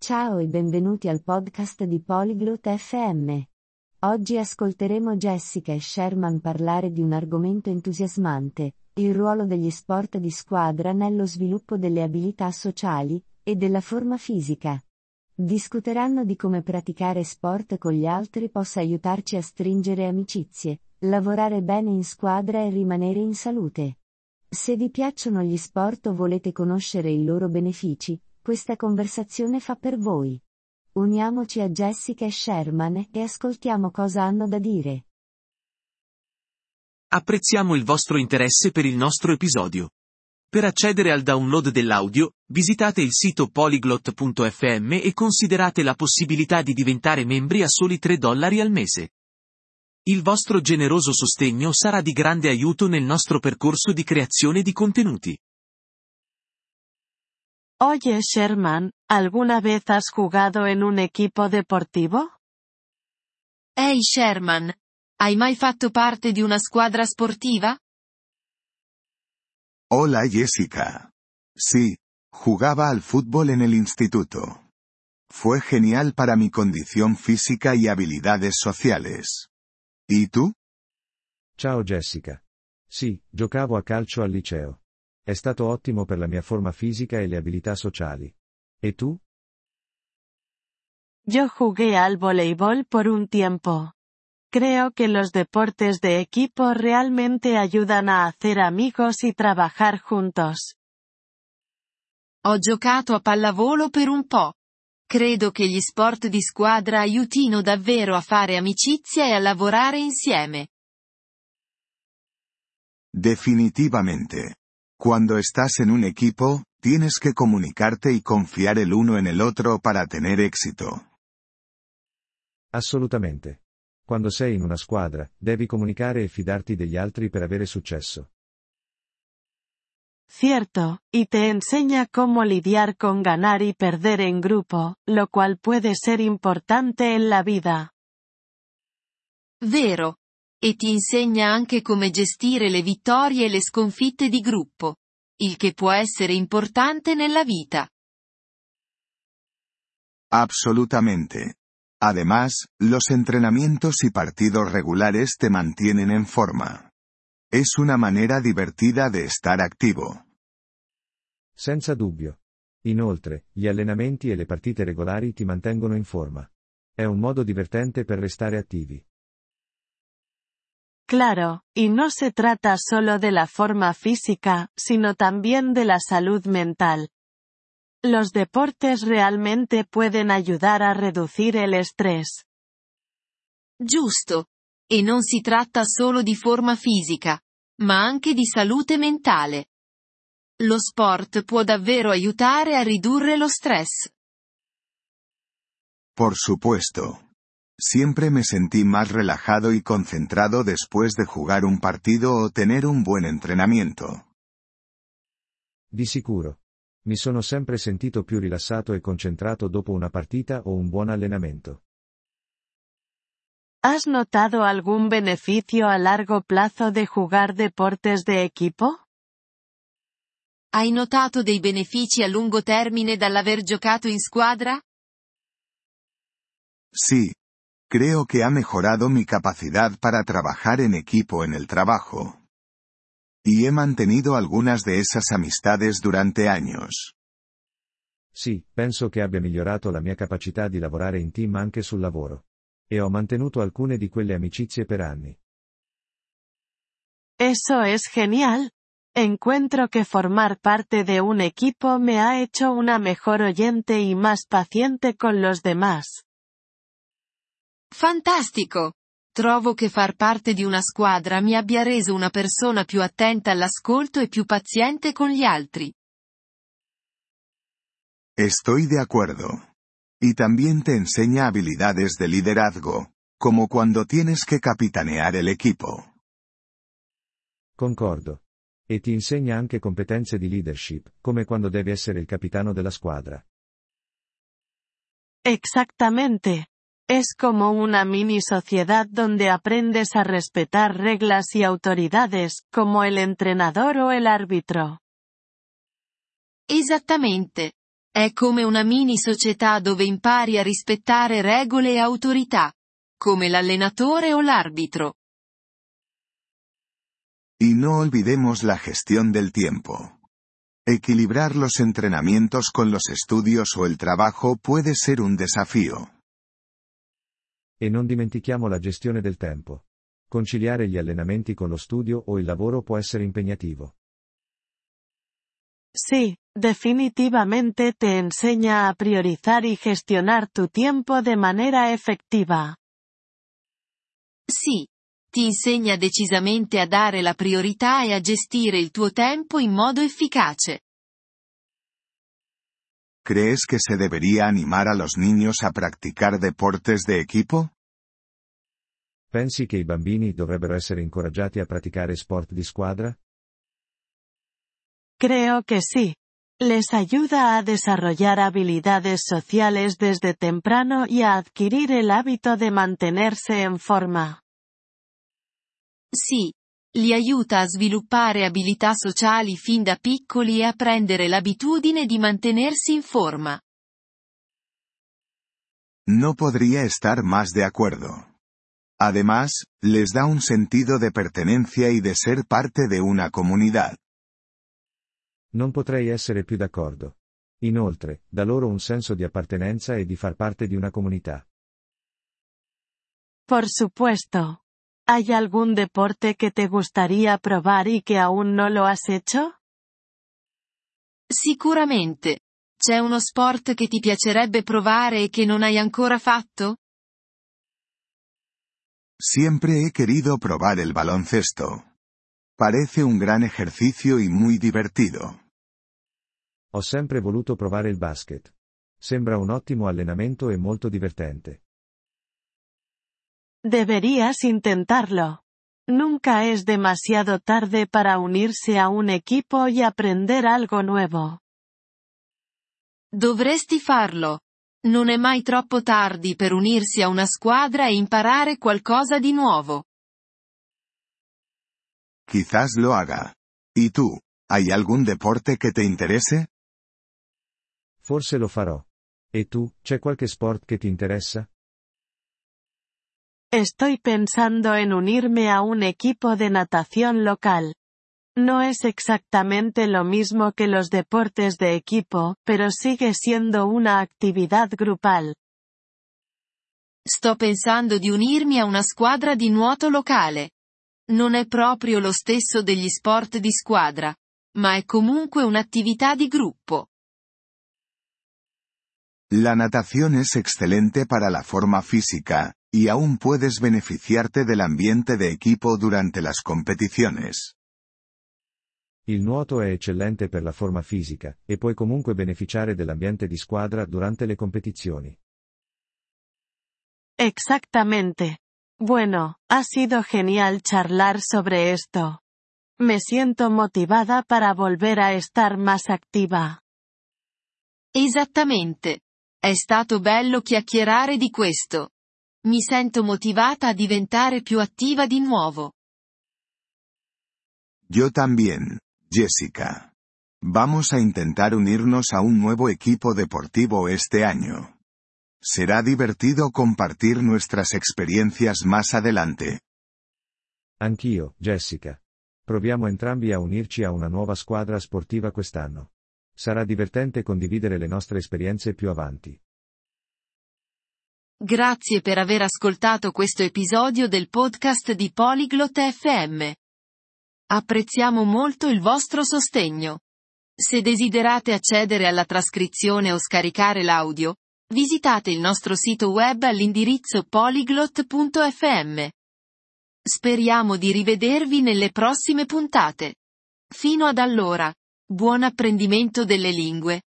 Ciao e benvenuti al podcast di Polyglot FM. Oggi ascolteremo Jessica e Sherman parlare di un argomento entusiasmante, il ruolo degli sport di squadra nello sviluppo delle abilità sociali e della forma fisica. Discuteranno di come praticare sport con gli altri possa aiutarci a stringere amicizie, lavorare bene in squadra e rimanere in salute. Se vi piacciono gli sport o volete conoscere i loro benefici, questa conversazione fa per voi. Uniamoci a Jessica e Sherman e ascoltiamo cosa hanno da dire. Apprezziamo il vostro interesse per il nostro episodio. Per accedere al download dell'audio, visitate il sito polyglot.fm e considerate la possibilità di diventare membri a soli $3 al mese. Il vostro generoso sostegno sarà di grande aiuto nel nostro percorso di creazione di contenuti. Oye Sherman, ¿alguna vez has jugado en un equipo deportivo? Ehi Sherman, hai mai fatto parte di una squadra sportiva? Hola Jessica. Sí, jugaba al fútbol en el instituto. Fue genial para mi condición física y habilidades sociales. ¿Y tú? Ciao Jessica. Sì, giocavo a calcio al liceo. È stato ottimo per la mia forma fisica e le abilità sociali. E tu? Yo jugué al voleibol por un tiempo. Creo que los deportes de equipo realmente ayudan a hacer amigos y trabajar juntos. Ho giocato a pallavolo per un po'. Credo che gli sport di squadra aiutino davvero a fare amicizia e a lavorare insieme. Definitivamente. Cuando estás en un equipo, tienes que comunicarte y confiar el uno en el otro para tener éxito. Assolutamente. Quando sei in una squadra, devi comunicare e fidarti degli altri per avere successo. Cierto, y te enseña cómo lidiar con ganar y perder en grupo, lo cual puede ser importante en la vida. Vero. E ti insegna anche come gestire le vittorie e le sconfitte di gruppo. Il che può essere importante nella vita. Absolutamente. Además, los entrenamientos y partidos regulares te mantienen en forma. Es una manera divertida de estar activo. Senza dubbio. Inoltre, gli allenamenti e le partite regolari ti mantengono in forma. È un modo divertente per restare attivi. Claro, y no se trata solo de la forma física, sino también de la salud mental. Los deportes realmente pueden ayudar a reducir el estrés. Giusto. E non si tratta solo di forma fisica, ma anche di salute mentale. Lo sport può davvero aiutare a ridurre lo stress. Por supuesto. Siempre me sentí más relajado y concentrado después de jugar un partido o tener un buen entrenamiento. Di sicuro. Mi sono sempre sentito più rilassato e concentrato dopo una partita o un buon allenamento. ¿Has notado algún beneficio a largo plazo de jugar deportes de equipo? Hai notato dei benefici a lungo termine dall'aver giocato in squadra? Sí. Creo que ha mejorado mi capacidad para trabajar en equipo en el trabajo. Y he mantenido algunas de esas amistades durante años. Sì, penso che abbia migliorato la mia capacità di lavorare in team anche sul lavoro. E ho mantenuto alcune di quelle amicizie per anni. Eso es genial. Encuentro que formar parte de un equipo me ha hecho una mejor oyente y más paciente con los demás. Fantastico! Trovo che far parte di una squadra mi abbia reso una persona più attenta all'ascolto e più paziente con gli altri. Estoy de acuerdo. Y también te enseña habilidades de liderazgo, como cuando tienes que capitanear el equipo. Concordo. E ti insegna anche competenze di leadership, come quando devi essere il capitano della squadra. Exactamente. Es como una mini sociedad donde aprendes a respetar reglas y autoridades, como el entrenador o el árbitro. Esattamente. È come una mini società dove impari a rispettare regole e autorità, come l'allenatore o l'arbitro. Y no olvidemos la gestión del tiempo. Equilibrar los entrenamientos con los estudios o el trabajo puede ser un desafío. E non dimentichiamo la gestione del tempo. Conciliare gli allenamenti con lo studio o il lavoro può essere impegnativo. Sí, definitivamente te enseña a priorizar y gestionar tu tiempo de manera efectiva. Sì, ti insegna decisamente a dare la priorità e a gestire il tuo tempo in modo efficace. ¿Crees que se debería animar a los niños a practicar deportes de equipo? Pensi che i bambini dovrebbero essere incoraggiati a praticare sport di squadra? Creo que sí. Les ayuda a desarrollar habilidades sociales desde temprano y a adquirir el hábito de mantenerse en forma. Sì, li aiuta a sviluppare abilità sociali fin da piccoli e a prendere l'abitudine di mantenersi in forma. No podría estar más de acuerdo. Además, les da un sentido de pertenencia y de ser parte de una comunidad. Non potrei essere più d'accordo. Inoltre, dà loro un senso di appartenenza e di far parte di una comunità. Por supuesto. ¿Hay algún deporte que te gustaría probar y que aún no lo has hecho? Sicuramente. C'è uno sport che ti piacerebbe provare e che non hai ancora fatto? Siempre he querido probar el baloncesto. Parece un gran ejercicio y muy divertido. Ho sempre voluto provare il basket. Sembra un ottimo allenamento e molto divertente. Deberías intentarlo. Nunca es demasiado tarde para unirse a un equipo y aprender algo nuevo. Dovresti farlo. Non è mai troppo tardi per unirsi a una squadra e imparare qualcosa di nuovo. Quizás lo haga. ¿Y tú? ¿Hay algún deporte que te interese? Forse lo farò. E tu, c'è qualche sport che ti interessa? Estoy pensando en unirme a un equipo de natación local. No es exactamente lo mismo que los deportes de equipo, pero sigue siendo una actividad grupal. Sto pensando di unirmi a una squadra di nuoto locale. Non è proprio lo stesso degli sport di squadra, ma è comunque un'attività di gruppo. La natación es excelente para la forma física, y aún puedes beneficiarte del ambiente de equipo durante las competiciones. Il nuoto è eccellente per la forma fisica, e puoi comunque beneficiare dell'ambiente di squadra durante le competizioni. Exactamente. Bueno, ha sido genial charlar sobre esto. Me siento motivada para volver a estar más activa. Esattamente. È stato bello chiacchierare di questo. Mi sento motivata a diventare più attiva di nuovo. Yo también, Jessica. Vamos a intentar unirnos a un nuevo equipo deportivo este año. Será divertido compartir nuestras experiencias más adelante. Anch'io, Jessica. Proviamo entrambi a unirci a una nuova squadra sportiva quest'anno. Sarà divertente condividere le nostre esperienze più avanti. Grazie per aver ascoltato questo episodio del podcast di Polyglot FM. Apprezziamo molto il vostro sostegno. Se desiderate accedere alla trascrizione o scaricare l'audio, visitate il nostro sito web all'indirizzo polyglot.fm. Speriamo di rivedervi nelle prossime puntate. Fino ad allora, buon apprendimento delle lingue.